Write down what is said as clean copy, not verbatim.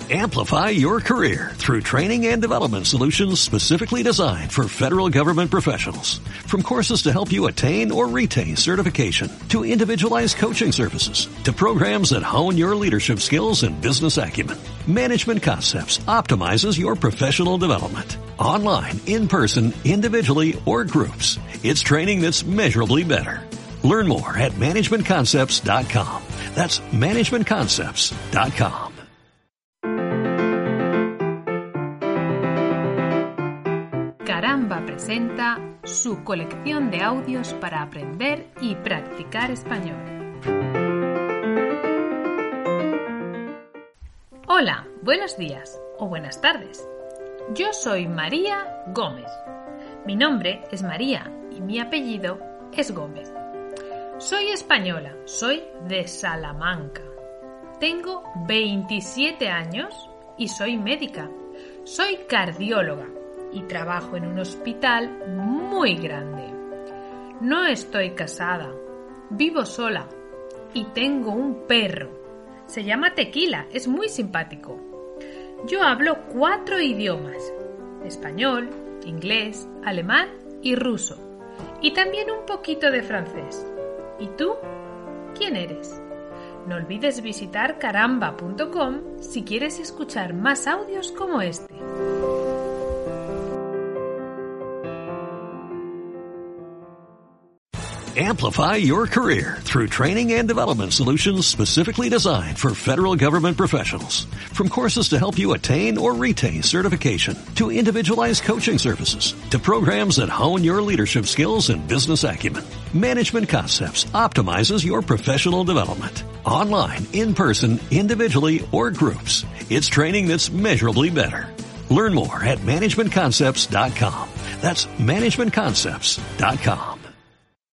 Amplify your career through training and development solutions specifically designed for federal government professionals. From courses to help you attain or retain certification, to individualized coaching services, to programs that hone your leadership skills and business acumen, Management Concepts optimizes your professional development. Online, in person, individually, or groups, it's training that's measurably better. Learn more at managementconcepts.com. That's managementconcepts.com. Caramba presenta su colección de audios para aprender y practicar español. Hola, buenos días o buenas tardes. Yo soy María Gómez. Mi nombre es María y mi apellido es Gómez. Soy española, soy de Salamanca. Tengo 27 años y soy médica. Soy cardióloga y trabajo en un hospital muy grande. No estoy casada, vivo sola y tengo un perro. Se llama Tequila, es muy simpático. Yo hablo 4 idiomas: español, inglés, alemán y ruso. Y también un poquito de francés. ¿Y tú? ¿Quién eres? No olvides visitar caramba.com si quieres escuchar más audios como este. Amplify your career through training and development solutions specifically designed for federal government professionals. From courses to help you attain or retain certification, to individualized coaching services, to programs that hone your leadership skills and business acumen, Management Concepts optimizes your professional development. Online, in person, individually, or groups, it's training that's measurably better. Learn more at managementconcepts.com. That's managementconcepts.com.